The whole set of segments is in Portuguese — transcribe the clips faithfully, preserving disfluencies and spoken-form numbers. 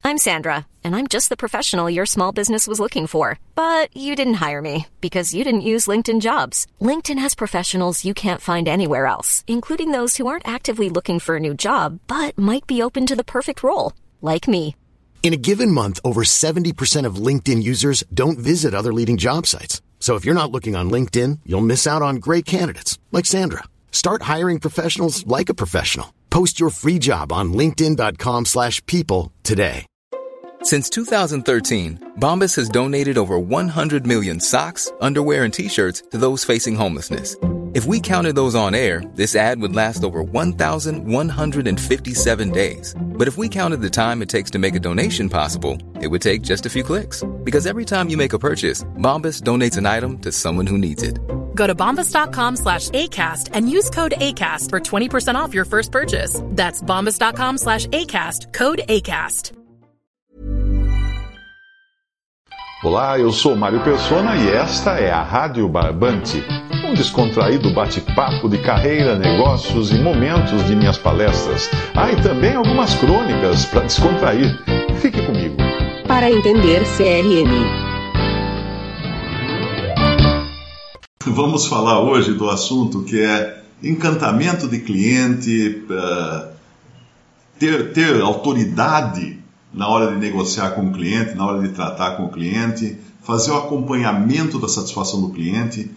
I'm Sandra, and I'm just the professional your small business was looking for. But you didn't hire me because you didn't use LinkedIn Jobs. LinkedIn has professionals you can't find anywhere else, including those who aren't actively looking for a new job, but might be open to the perfect role, like me. In a given month, over seventy percent of LinkedIn users don't visit other leading job sites. So if you're not looking on LinkedIn, you'll miss out on great candidates like Sandra. Start hiring professionals like a professional. Post your free job on linkedin dot com slash people today. Since two thousand thirteen, Bombas has donated over one hundred million socks, underwear, and T-shirts to those facing homelessness. If we counted those on air, this ad would last over one thousand one hundred fifty-seven days. But if we counted the time it takes to make a donation possible, it would take just a few clicks. Because every time you make a purchase, Bombas donates an item to someone who needs it. Go to bombas.com slash ACAST and use code ACAST for twenty percent off your first purchase. That's bombas.com slash ACAST, code ACAST. Olá, eu sou Mário Persona e esta é a Rádio Barbante, um descontraído bate-papo de carreira, negócios e momentos de minhas palestras. Ah, e também algumas crônicas para descontrair. Fique comigo. Para entender C R M. Vamos falar hoje do assunto que é encantamento de cliente, uh, ter, ter autoridade na hora de negociar com o cliente, na hora de tratar com o cliente, fazer o acompanhamento da satisfação do cliente,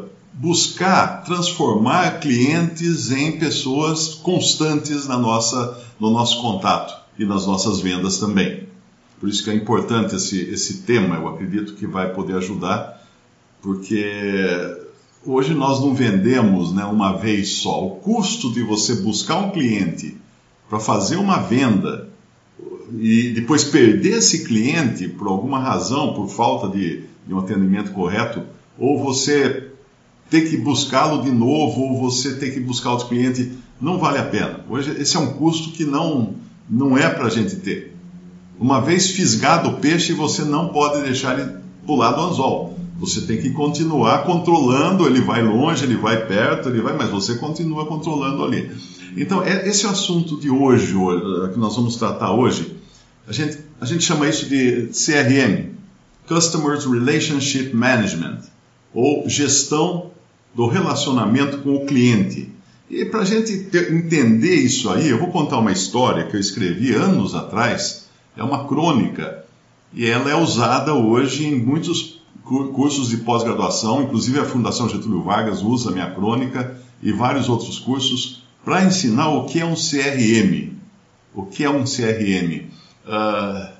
buscar transformar clientes em pessoas constantes na nossa, no nosso contato e nas nossas vendas também. Por isso que é importante esse, esse tema, eu acredito que vai poder ajudar, porque hoje nós não vendemos, né, uma vez só. O custo de você buscar um cliente para fazer uma venda e depois perder esse cliente por alguma razão, por falta de, de um atendimento correto, ou você ter que buscá-lo de novo, ou você ter que buscar outro cliente, não vale a pena. Hoje esse é um custo que não, não é para a gente ter. Uma vez fisgado o peixe, você não pode deixar ele pular do anzol. Você tem que continuar controlando, ele vai longe, ele vai perto, ele vai, mas você continua controlando ali. Então, esse é o assunto de hoje, que nós vamos tratar hoje. A gente, a gente chama isso de C R M, Customer Relationship Management, ou gestão do relacionamento com o cliente. E para a gente ter, entender isso aí, eu vou contar uma história que eu escrevi anos atrás, é uma crônica, e ela é usada hoje em muitos cursos de pós-graduação, inclusive a Fundação Getúlio Vargas usa a minha crônica e vários outros cursos para ensinar o que é um C R M. O que é um C R M? Uh,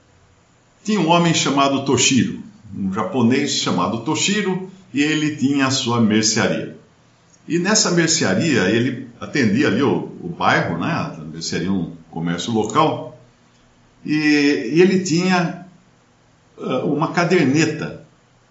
tinha um homem chamado Toshiro, um japonês chamado Toshiro, e ele tinha a sua mercearia. E nessa mercearia, ele atendia ali o, o bairro, né? A mercearia é um comércio local, e, e ele tinha uh, uma caderneta,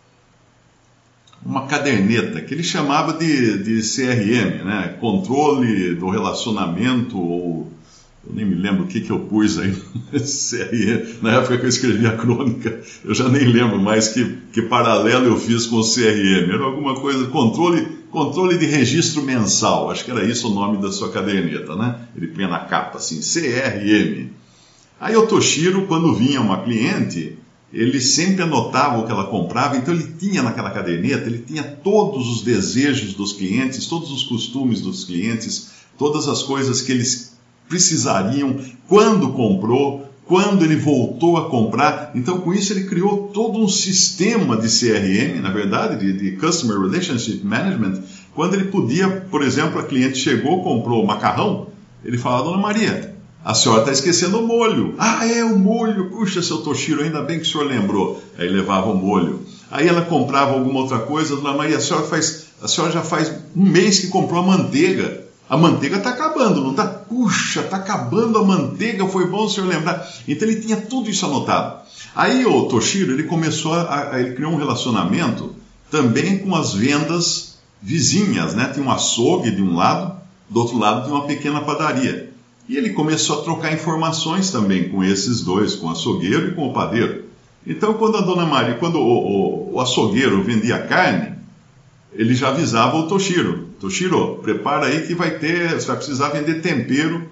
uma caderneta que ele chamava de, de C R M, né? Controle do relacionamento, ou eu nem me lembro o que, que eu pus aí no C R M, na época que eu escrevi a crônica, eu já nem lembro mais que, que paralelo eu fiz com o C R M, era alguma coisa, controle, controle de registro mensal, acho que era isso o nome da sua caderneta, né? Ele punha na capa assim, C R M. Aí o Toshiro, quando vinha uma cliente, ele sempre anotava o que ela comprava, então ele tinha naquela caderneta, ele tinha todos os desejos dos clientes, todos os costumes dos clientes, todas as coisas que eles precisariam, quando comprou, quando ele voltou a comprar. Então, com isso, ele criou todo um sistema de C R M, na verdade, de, de Customer Relationship Management, quando ele podia, por exemplo, a cliente chegou, comprou macarrão, ele falava, Dona Maria, a senhora está esquecendo o molho. Ah, é, o molho. Puxa, seu Toshiro, ainda bem que o senhor lembrou. Aí levava o molho. Aí ela comprava alguma outra coisa. Dona Maria, a senhora, faz, a senhora já faz um mês que comprou a manteiga. A manteiga está acabando, não está? Puxa, está acabando a manteiga, foi bom o senhor lembrar. Então ele tinha tudo isso anotado. Aí o Toshiro, ele começou a, a ele criou um relacionamento também com as vendas vizinhas, né? Tinha um açougue de um lado, do outro lado tinha uma pequena padaria. E ele começou a trocar informações também com esses dois, com o açougueiro e com o padeiro. Então, quando a Dona Maria, quando o, o, o açougueiro vendia carne, ele já avisava o Toshiro. Toshiro, prepara aí que vai ter, você vai precisar vender tempero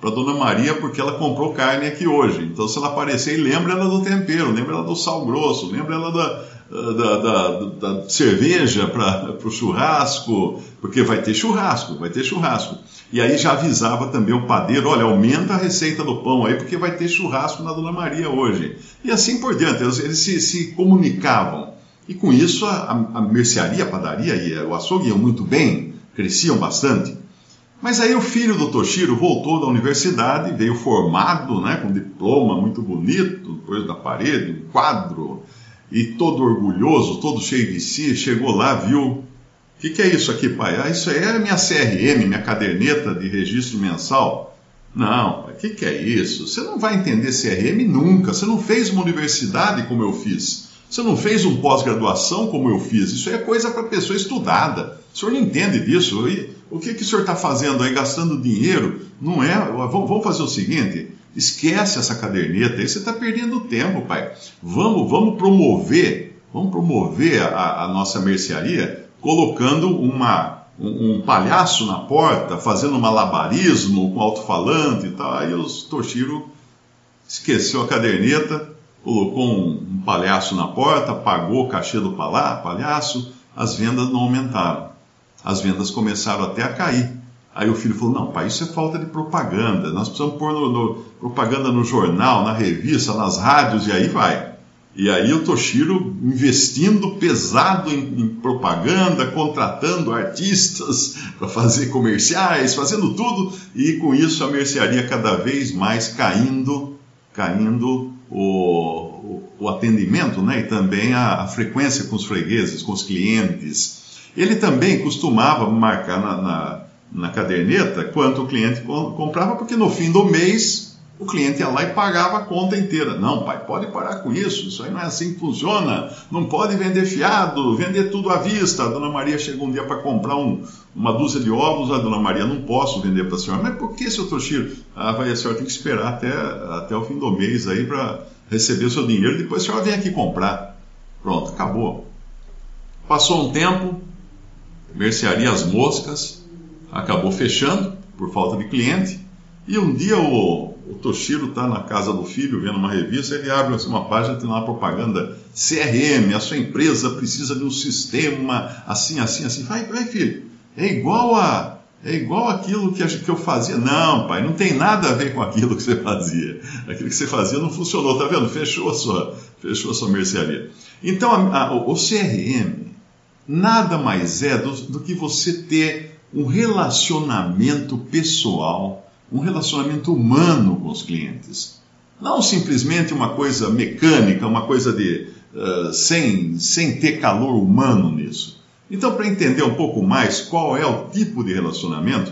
para Dona Maria porque ela comprou carne aqui hoje. Então, se ela aparecer, lembra ela do tempero, lembra ela do sal grosso, lembra ela da, da, da, da cerveja para o churrasco, porque vai ter churrasco, vai ter churrasco. E aí já avisava também o padeiro, olha, aumenta a receita do pão aí, porque vai ter churrasco na Dona Maria hoje. E assim por diante, eles, eles se, se comunicavam. E com isso, a, a mercearia, a padaria e o açougue iam muito bem, cresciam bastante. Mas aí o filho do Toshiro voltou da universidade, veio formado, né, com diploma muito bonito, depois da parede, um quadro, e todo orgulhoso, todo cheio de si, chegou lá, viu, o que, que é isso aqui, pai? Ah, isso aí é a minha C R M, minha caderneta de registro mensal. Não, pai, o que, que é isso? Você não vai entender C R M nunca, você não fez uma universidade como eu fiz, você não fez um pós-graduação como eu fiz, isso aí é coisa para pessoa estudada, o senhor não entende disso, e o que, que o senhor está fazendo aí, gastando dinheiro? Não é, vamos fazer o seguinte, esquece essa caderneta aí, você está perdendo tempo, pai. Vamos, vamos promover, vamos promover a, a nossa mercearia colocando uma, um, um palhaço na porta, fazendo malabarismo com alto-falante e tal. Aí o Toshiro esqueceu a caderneta, colocou um, um palhaço na porta, pagou o cachê do palá, palhaço, as vendas não aumentaram. As vendas começaram até a cair. Aí o filho falou, não, pai, isso é falta de propaganda. Nós precisamos pôr no, no, propaganda no jornal, na revista, nas rádios, e aí vai. E aí o Toshiro investindo pesado em, em propaganda, contratando artistas para fazer comerciais, fazendo tudo, e com isso a mercearia cada vez mais caindo, caindo o, o, o atendimento, né? E também a, a frequência com os fregueses, com os clientes. Ele também costumava marcar na, na, na caderneta quanto o cliente comprava, porque no fim do mês o cliente ia lá e pagava a conta inteira. Não, pai, pode parar com isso, isso aí não é assim que funciona, não pode vender fiado, vender tudo à vista. A Dona Maria chegou um dia para comprar um, uma dúzia de ovos, a Dona Maria, não posso vender para a senhora. Mas por que, seu Toshiro? Ah, vai, a senhora tem que esperar até, até o fim do mês aí para receber o seu dinheiro, depois a senhora vem aqui comprar. Pronto, acabou. Passou um tempo, mercearia As Moscas acabou fechando por falta de cliente, e um dia o, o Toshiro está na casa do filho vendo uma revista, ele abre uma página, tem lá uma propaganda C R M, a sua empresa precisa de um sistema assim, assim, assim. Vai, vai, filho, é igual a é igual aquilo que, a, que eu fazia. Não, pai, não tem nada a ver com aquilo que você fazia, aquilo que você fazia não funcionou, tá vendo? Fechou a sua, fechou a sua mercearia. Então a, a, o C R M nada mais é do, do que você ter um relacionamento pessoal, um relacionamento humano com os clientes. Não simplesmente uma coisa mecânica, uma coisa de, uh, sem, sem ter calor humano nisso. Então, para entender um pouco mais qual é o tipo de relacionamento,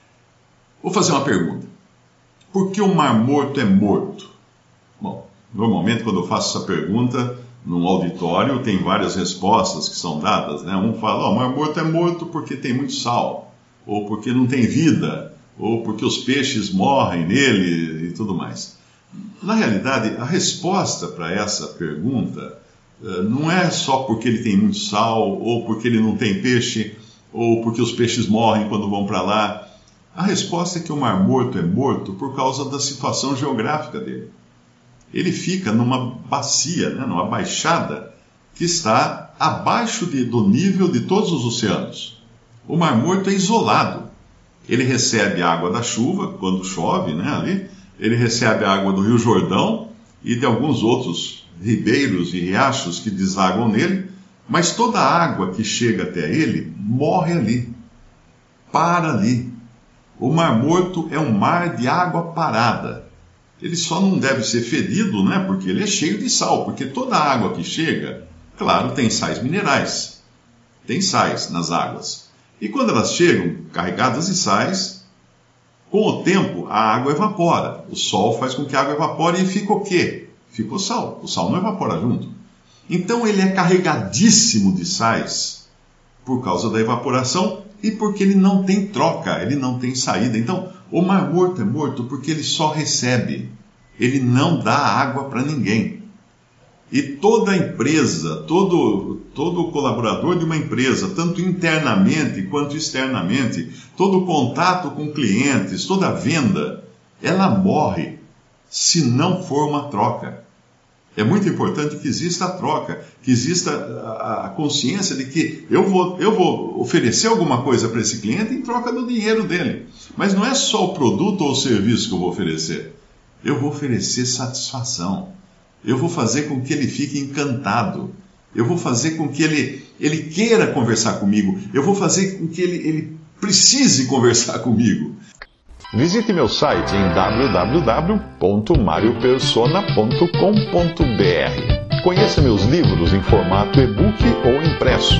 vou fazer uma pergunta. Por que o Mar Morto é morto? Bom, normalmente quando eu faço essa pergunta num auditório, tem várias respostas que são dadas, né? Um fala, oh, o Mar Morto é morto porque tem muito sal, ou porque não tem vida, ou porque os peixes morrem nele e tudo mais. Na realidade, a resposta para essa pergunta uh, não é só porque ele tem muito sal, ou porque ele não tem peixe, ou porque os peixes morrem quando vão para lá. A resposta é que o Mar Morto é morto por causa da situação geográfica dele. Ele fica numa bacia, né, numa baixada, que está abaixo de, do nível de todos os oceanos. O Mar Morto é isolado. Ele recebe a água da chuva, quando chove, né, ali. Ele recebe a água do Rio Jordão e de alguns outros ribeiros e riachos que desaguam nele, mas toda a água que chega até ele morre ali, para ali. O Mar Morto é um mar de água parada. Ele só não deve ser fedido, né, porque ele é cheio de sal, porque toda a água que chega, claro, tem sais minerais, tem sais nas águas. E quando elas chegam carregadas de sais, com o tempo a água evapora. O sol faz com que a água evapore e fica o quê? Fica o sal. O sal não evapora junto. Então ele é carregadíssimo de sais por causa da evaporação e porque ele não tem troca, ele não tem saída. Então, o Mar Morto é morto porque ele só recebe, ele não dá água para ninguém. E toda empresa, todo, todo colaborador de uma empresa, tanto internamente quanto externamente, todo contato com clientes, toda venda, ela morre se não for uma troca. É muito importante que exista a troca, que exista a consciência de que eu vou, eu vou oferecer alguma coisa para esse cliente em troca do dinheiro dele. Mas não é só o produto ou o serviço que eu vou oferecer. Eu vou oferecer satisfação. Eu vou fazer com que ele fique encantado. Eu vou fazer com que ele, ele queira conversar comigo. Eu vou fazer com que ele, ele precise conversar comigo. Visite meu site em w w w ponto mario persona ponto com ponto b r. Conheça meus livros em formato e-book ou impresso.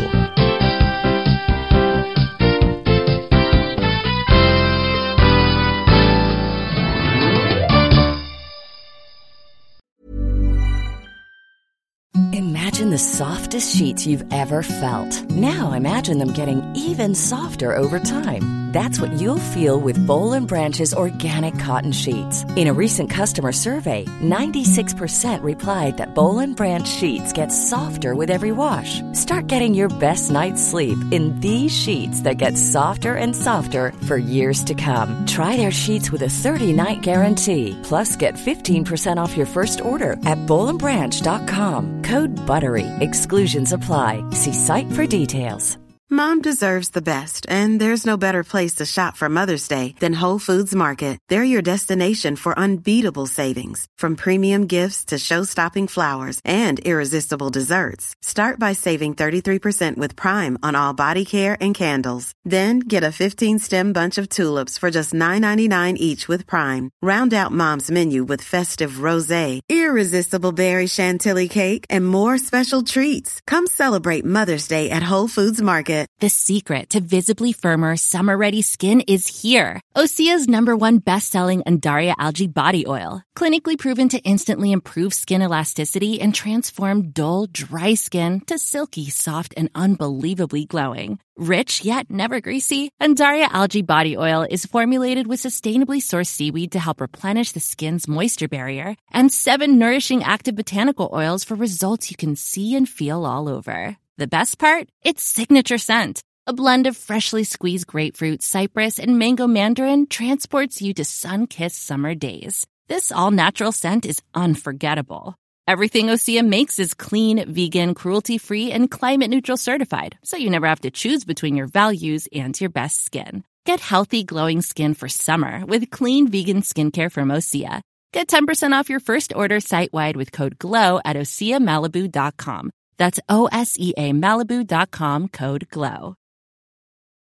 Imagine the softest sheets you've ever felt. Now imagine them getting even softer over time. That's what you'll feel with Boll and Branch's organic cotton sheets. In a recent customer survey, ninety-six percent replied that Boll and Branch sheets get softer with every wash. Start getting your best night's sleep in these sheets that get softer and softer for years to come. Try their sheets with a thirty-night guarantee. Plus, get fifteen percent off your first order at boll and branch dot com. Code BUTTERY. Exclusions apply. See site for details. Mom deserves the best, and there's no better place to shop for Mother's Day than Whole Foods Market. They're your destination for unbeatable savings, from premium gifts to show-stopping flowers and irresistible desserts. Start by saving thirty-three percent with Prime on all body care and candles. Then get a fifteen-stem bunch of tulips for just nine ninety-nine each with Prime. Round out Mom's menu with festive rosé, irresistible berry chantilly cake, and more special treats. Come celebrate Mother's Day at Whole Foods Market. The secret to visibly firmer, summer-ready skin is here. Osea's number one best-selling Undaria Algae Body Oil. Clinically proven to instantly improve skin elasticity and transform dull, dry skin to silky, soft, and unbelievably glowing. Rich yet never greasy, Undaria Algae Body Oil is formulated with sustainably sourced seaweed to help replenish the skin's moisture barrier and seven nourishing active botanical oils for results you can see and feel all over. The best part? Its signature scent. A blend of freshly squeezed grapefruit, cypress, and mango mandarin transports you to sun-kissed summer days. This all-natural scent is unforgettable. Everything Osea makes is clean, vegan, cruelty-free, and climate-neutral certified, so you never have to choose between your values and your best skin. Get healthy, glowing skin for summer with clean, vegan skincare from Osea. Get ten percent off your first order site-wide with code GLOW at osea malibu dot com. That's O S E A Malibu dot com, code GLOW.